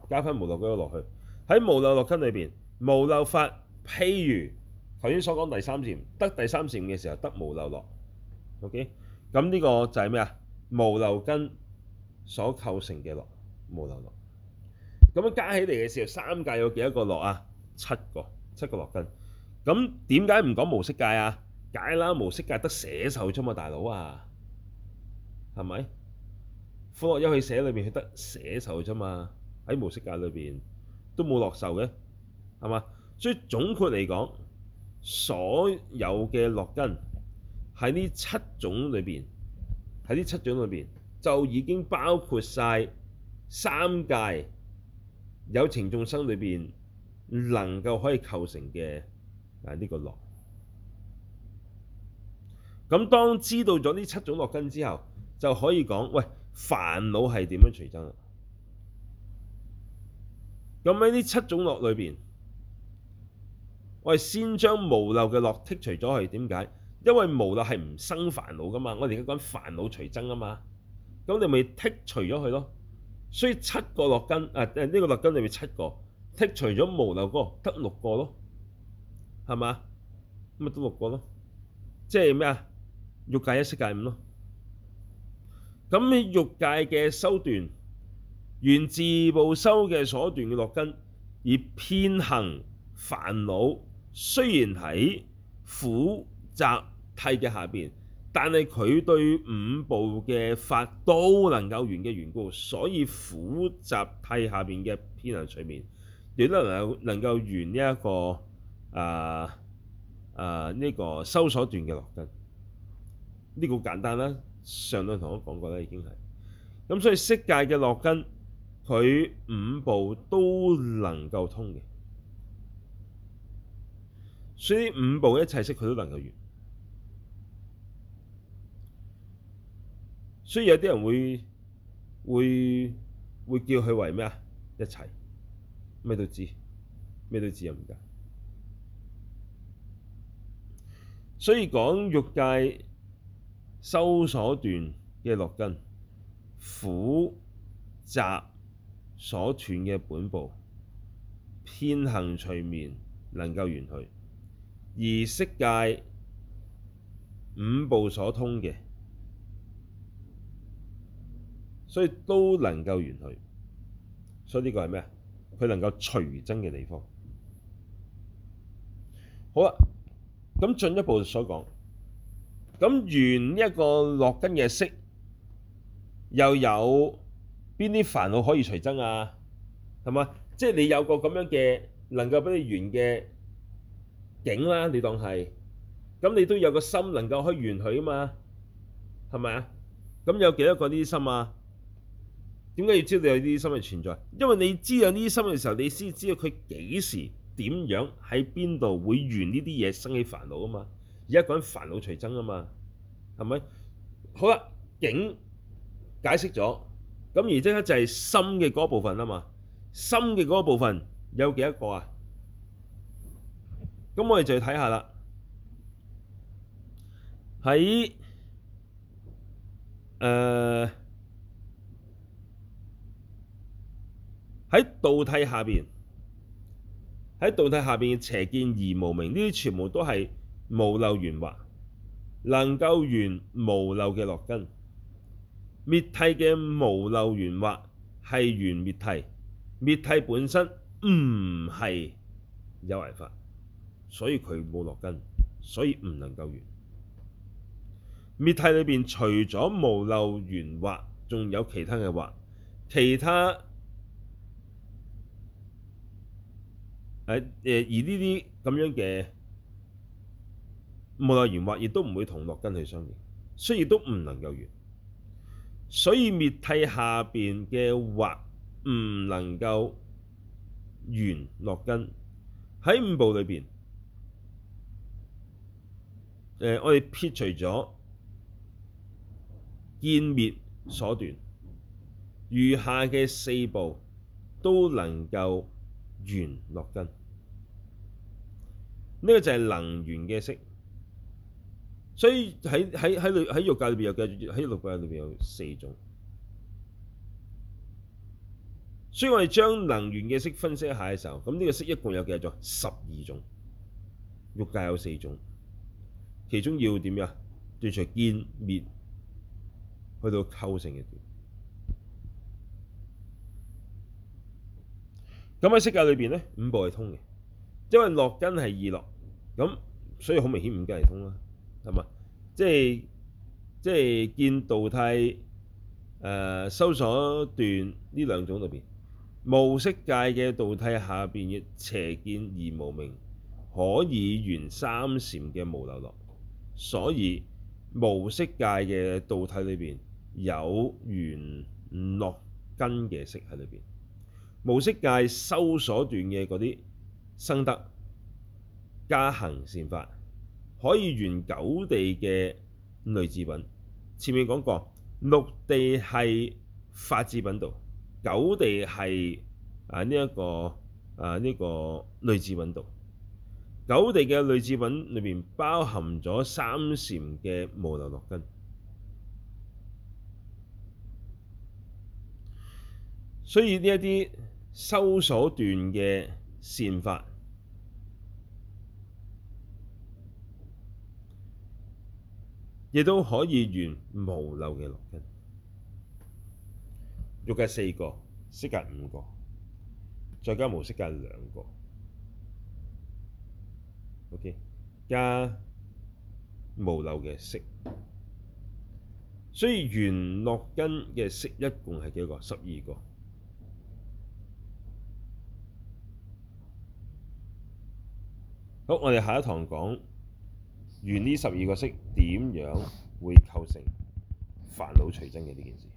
加翻無漏嗰個落去。喺無漏落根裏邊，無漏法譬如頭先所講第三禪，得第三禪嘅時候得無漏落。OK，咁呢個就係咩啊？無漏根所構成嘅落，無漏落。咁樣加起嚟嘅時候，三界有幾多個落啊？七個落根。咁點解唔講無色界啊？解啦，無色界得捨受啫嘛，大佬啊，係咪？苦樂憂喜捨裏邊佢得捨受啫嘛，喺無色界裏邊都冇樂受嘅，係嘛？所以總括嚟講，所有嘅落根喺呢七種裏邊，就已經包括晒三界有情眾生裏邊能夠可以構成嘅呢個樂。咁當知道咗呢七種落根之後，就可以講喂，煩惱係點樣隨增啦？咁喺呢七種樂裏邊，我哋先將無漏嘅樂剔除咗去。點解？因為無漏係唔生煩惱噶嘛，我哋而家講煩惱隨增啊嘛。咁你咪剔除咗佢咯。所以七個落根呢個落根裏面七個剔除咗無漏嗰個，得六個咯，係嘛？咁咪得六個咯，即係咩啊？欲界一、色界五咯。咁喺欲界嘅修斷，緣自部修嘅所斷嘅落根，而遍行煩惱，雖然喺苦集諦嘅下邊，但係佢對五部嘅法都能夠緣嘅緣故，所以苦集諦下邊嘅遍行隨眠，亦都能夠緣呢一個呢個修所斷嘅落根。呢個好簡單啦，上兩堂都講過啦，已經係咁，所以色界嘅落根，佢五部都能夠通嘅，所以五部一切色佢都能夠緣。所以有啲人會叫佢為咩啊？一切咩都知，咩都知又唔得。所以講欲界修所斷嘅落根，苦集所斷嘅本部，遍行隨眠能夠緣去，而色界五部所通嘅，所以都能夠緣去。所以呢個係咩啊？佢能夠隨增嘅地方。好啦，咁進一步所講。咁緣一個落根嘅色，又有邊啲煩惱可以隨增啊？係嘛？即係你有個咁樣嘅能夠俾你緣嘅境啦，你當係，咁你都有個心能夠可以緣佢啊嘛？係咪啊？咁有幾多個呢啲心啊？點解要知道有呢啲心嘅存在？因為你知道呢啲心嘅時候，你先知道佢幾時點樣喺邊度會緣呢啲嘢生起煩惱啊嘛。而家講緊煩惱隨增啊嘛，係咪？好啦，境解釋咗，咁而即刻就係心嘅嗰部分啊嘛。心嘅嗰部分有幾多個啊？咁我哋就要睇下啦。喺道諦下邊，喺道諦下邊嘅邪見而無明，呢啲全部都係無漏緣惑，能夠緣無漏嘅落根。滅諦嘅無漏緣惑係緣滅諦，滅諦本身唔係有為法，所以佢冇落根，所以唔能夠緣。滅諦裏邊除咗無漏緣惑，仲有其他嘅惑，其他而呢啲咁樣嘅無漏緣惑亦都唔會同落根去相應，所以亦都唔能夠緣。所以滅諦下邊嘅惑唔能夠緣落根。喺五部裏邊，我哋撇除咗見滅所斷，餘下嘅四部都能夠緣落根。呢個就係能緣嘅色。所以喺欲界裏邊有嘅，喺六界裏邊有四種。 所以我哋將能緣嘅色分析一下嘅時候，咁呢個色一共有幾多種？12種。欲界有4種，其中要點樣？斷除見滅去到構成嘅段。咁喺色界裏邊咧，5部係通嘅，因為樂根係意樂，咁所以好明顯5根係通啦，係嘛？即係見道諦修所斷呢兩種裏邊，無色界嘅道諦下邊嘅邪見而無明，可以緣三禪嘅無漏樂，所以無色界嘅道諦裏邊有緣樂根嘅色喺裏邊。無色界修所斷嘅嗰啲生得加行善法，可以緣九地嘅類智品。前面講過，六地係法智品道，九地係呢一個類智品道。九地嘅類智品裏面包含咗三禪嘅無漏樂根，所以呢一啲修所斷嘅善法，亦都可以緣無漏嘅樂根。欲界4個，色界5個，再加無色界2個。OK， 加無漏嘅色，所以緣樂根嘅色一共係幾個？12個。好，我哋下一堂講緣呢12個色點樣會構成煩惱隨增嘅呢件事，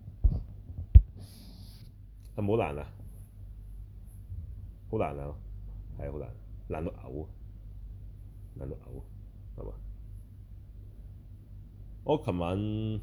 係咪好難啊？好難啊，係好難，難到嘔，難到嘔，係嘛？我琴晚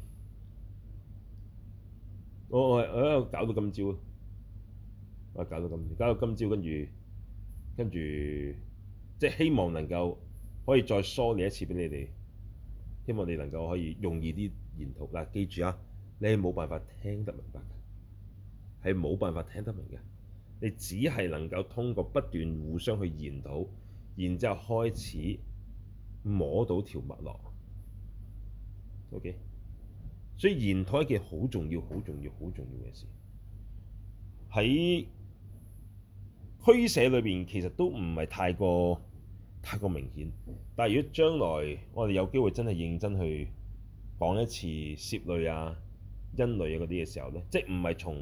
我喺度搞到今朝，搞到今朝，跟住即係希望能夠可以再梳理一次俾你哋，希望你能夠可以容易啲研討。嗱，記住啊，你係冇辦法聽得明白嘅，係冇辦法聽得明嘅。你只係能夠通過不斷互相去研討，然之後開始摸到條脈絡。OK， 所以研討係一件好重要、好重要、好重要嘅事。喺俱舍裏邊其實都唔係太過明顯，但係如果將來我哋有機會真係認真去講一次攝類啊、因類啊嗰啲嘅時候咧，即係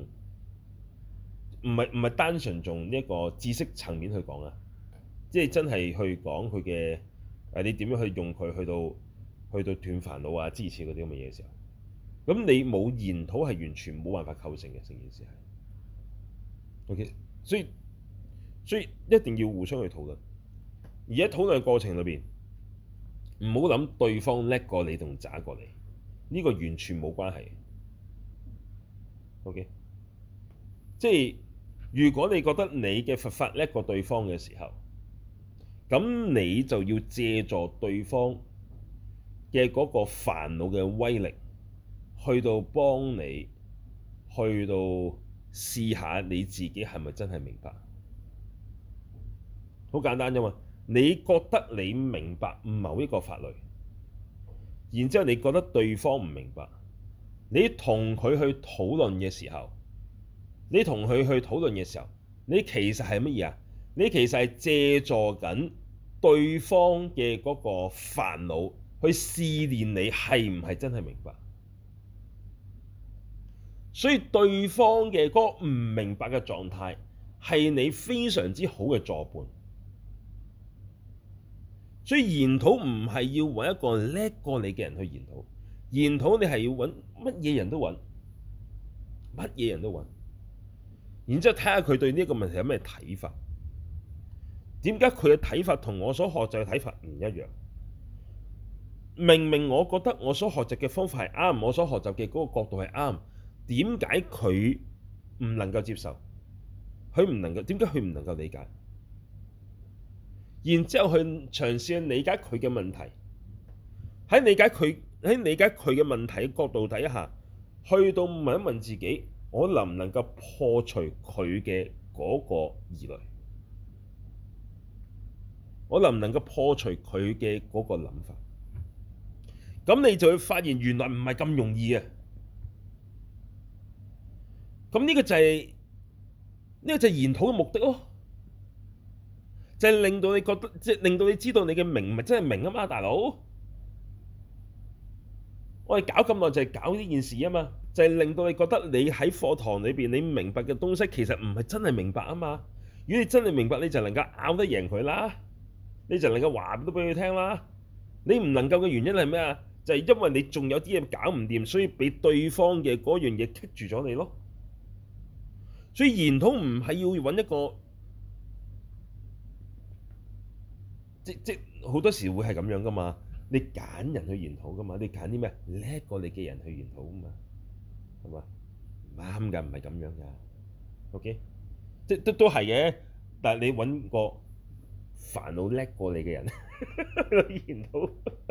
唔係單純從呢一個知識層面去講啊，即係真係去講佢嘅你點樣去用佢去到斷煩惱啊、支持嗰啲咁嘅嘢嘅時候，咁你冇研討係完全冇辦法構成嘅，成件事係 OK， 所以一定要互相去討論。而喺討論嘅過程裏邊，唔好諗對方叻過你同渣過你，呢個完全冇關係。OK， 即係如果你覺得你嘅佛法叻過對方嘅時候，咁你就要借助對方嘅嗰個煩惱嘅威力，去到幫你，去到試下你自己係咪真係明白。好簡單啫嘛，你覺得你明白某一個法律，然之後你覺得對方唔明白，你同佢去討論嘅時候，你其實係乜嘢啊？你其實係借助緊對方嘅嗰個煩惱去試煉你係唔係真係明白。所以對方嘅嗰個唔明白嘅狀態係你非常之好嘅助伴。所以研討唔係要揾一個叻過你嘅人去研討，研討你係要揾乜嘢人都揾，然之後睇下佢對呢一個問題有咩睇法。點解佢嘅睇法同我所學習嘅睇法唔一樣？明明我覺得我所學習嘅方法係啱，我所學習嘅嗰個角度係啱，點解佢唔能夠接受？點解佢唔能夠理解？然之後去嘗試去理解佢嘅問題，喺理解佢嘅問題嘅角度底下，去到問一問自己， 我能唔能夠破除佢嘅嗰個疑慮？我能唔能夠破除佢嘅嗰個諗法？咁你就會發現原來唔係咁容易啊！咁呢個就係研討嘅目的咯，就係令到你覺得，即係令到你知道你嘅明唔係真係明啊嘛，大佬！我哋搞咁耐就係搞呢件事啊嘛，就係令到你覺得你喺課堂裏邊你明白嘅東西其實唔係真係明白啊嘛。如果你真係明白，你就能夠拗得贏佢啦，你就能夠話都俾佢聽啦。你唔能夠嘅原因係咩啊？就係因為你仲有啲嘢搞唔掂，所以俾對方嘅嗰樣嘢棘住咗你咯。所以研討唔係要揾一個，即好多時會係咁樣噶嘛。你揀人去研討噶嘛，你揀啲咩叻過你嘅人去研討噶嘛，係嘛？唔啱㗎，唔係咁樣㗎。OK，即都係嘅，但係你揾個煩惱叻過你嘅人去研討，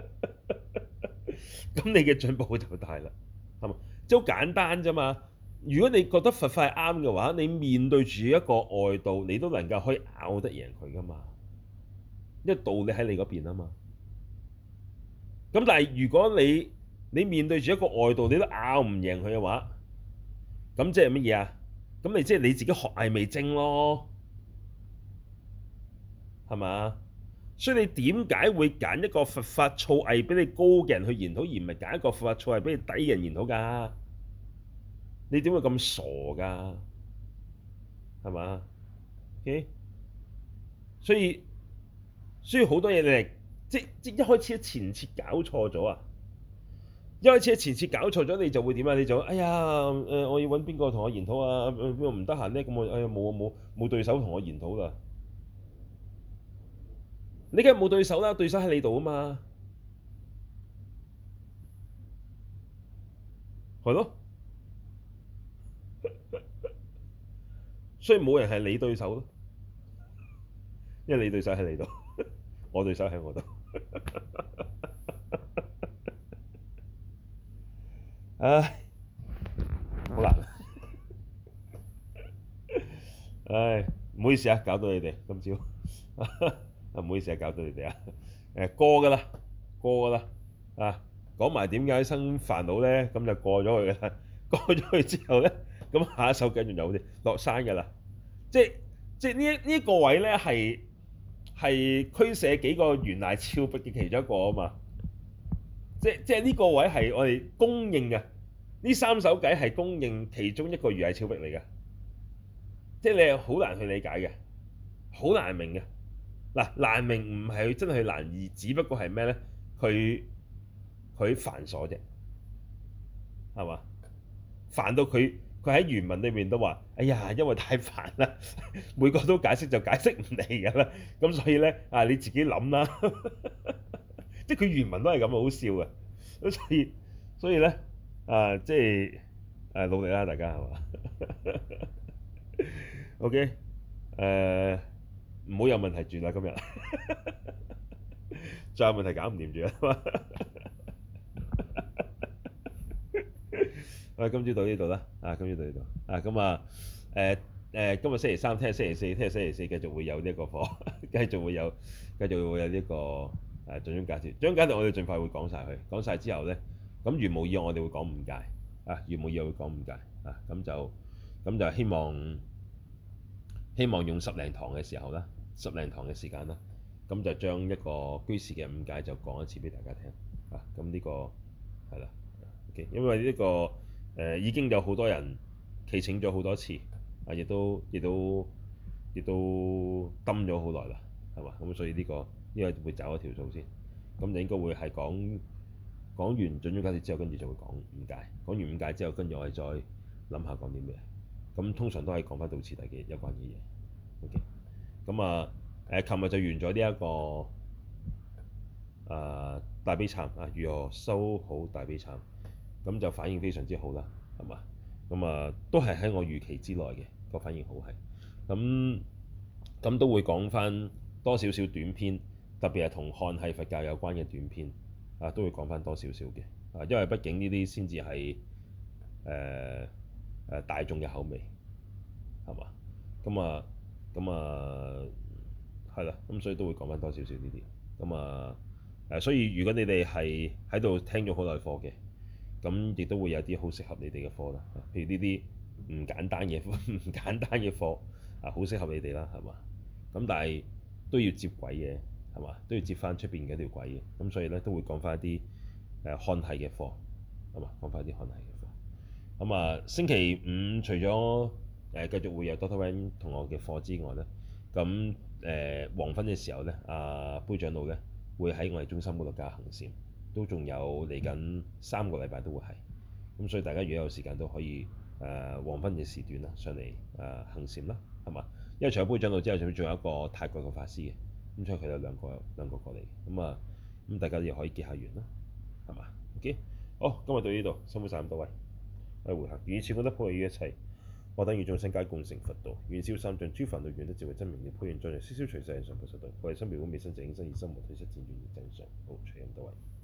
咁你嘅進步就大啦，係嘛？即好簡單啫嘛。如果你覺得佛法係啱嘅話，你面對住一個外道，你都能夠可以拗得贏佢噶嘛，因為道理喺你嗰邊啊嘛。咁但係如果你面對住一個外道，你都拗唔贏佢嘅話，咁即係乜嘢啊？咁你即係你自己學藝未精咯，係嘛？所以你點解會揀一個佛法造詣比你高嘅人去研討，而唔係揀一個佛法造詣比你低嘅人研討㗎？你點會咁傻㗎？係嘛？OK，所以好多嘢你係即一開始前設搞錯咗啊！一開始前設搞錯咗，你就會點啊？你就哎呀我要揾邊個同我研討啊？邊個唔得閒咧？咁我哎呀冇對手同我研討啦！你梗係冇對手啦，對手喺你度啊嘛，係咯。所以冇人係你對手咯，因為你對手喺你度，我對手喺我度。唉，好難。唉，唔好意思啊，搞到你哋今朝。唔好意思啊，搞到你哋啊。過㗎啦，過㗎啦。啊，講埋點解生煩惱咧，咁就過咗去㗎啦。過咗去之後咧，咁下一首繼續有啲落山㗎啦。即即呢一個位咧係俱舍幾個懸崖峭壁嘅其中一個啊嘛。即呢個位係我哋公認嘅，呢三首偈係公認其中一個懸崖峭壁嚟嘅。即你係好難去理解嘅，好難明嘅。嗱，難明唔係佢真係難易，只不過係咩咧？佢繁瑣啫，係嘛？煩到佢喺原文裏面都話：哎呀，因為太煩啦，每個都解釋就解釋唔嚟㗎啦。咁所以咧你自己諗啦。即係佢原文都係咁好笑嘅。咁所以咧即係努力啦，大家係嘛？OK，唔好有問題住啦，今日再有問題搞唔掂住啦。我哋今朝到呢度啦，今朝到呢度咁今日星期三，聽日星期四，聽日星期四繼續會有呢一個課，繼續會有呢個準宗解脫。準宗解脫我哋盡快會講晒佢，講晒之後咧，咁如無意外我哋會講五戒如無意外會講五戒咁就希望用十零堂嘅時候啦，十零堂嘅時間啦，咁就將一個居士嘅五戒就講一次俾大家聽咁呢個係啦。OK，因為呢個已經有好多人祈請咗好多次亦都蹲咗好耐啦，係嘛？咁所以呢個會找一條數先，咁就應該會係講完準宗解脫之後，跟住就會講五戒，講完五戒之後，跟住我哋再諗下講啲咩。咁通常都係講翻道次第嘅有關嘅嘢。OK，咁琴日就完咗呢一個大悲懺如何修好大悲懺，咁就反應非常之好啦，係嘛？咁都係喺我預期之內嘅個反應好係，咁都會講翻多少少短篇，特別係同漢系佛教有關嘅短篇都會講翻多少少嘅因為畢竟呢啲先至係大眾嘅口味，係嘛？咁係啦，咁所以都會講翻多少少呢啲。所以如果你哋係喺度聽咗好耐課嘅，咁亦都會有啲好適合你哋嘅課啦。譬如呢啲唔簡單嘅唔簡單嘅課好適合你哋啦，係嘛？咁但係都要接軌嘅，係嘛？都要接翻出邊嘅條軌嘅。咁所以咧都會講翻一啲漢系嘅課，係嘛？講翻一啲漢系嘅課。星期五除咗繼續會有 Doctor Wen 同學嘅課之外咧，咁黃昏嘅時候咧，杯長老咧會喺我哋中心嗰度教行禪，都仲有嚟緊3個禮拜都會係。咁所以大家如果有時間都可以黃昏嘅時段啦上嚟行禪啦，係嘛？因為除咗杯長老之後，仲有一個泰國嘅法師嘅，咁所以佢有兩個過嚟，咁大家又可以結下緣啦，係嘛？OK，好，今日到呢度，辛苦曬咁多位，我哋回向，願以此功德普惠於一切，我等與眾生皆共成佛道，願消三障諸煩惱，願得智慧真明了，普賢莊嚴，消消除世人上菩薩道，我哋心妙觀未生淨應生，以心無體質漸願而增上，好，隨咁多位。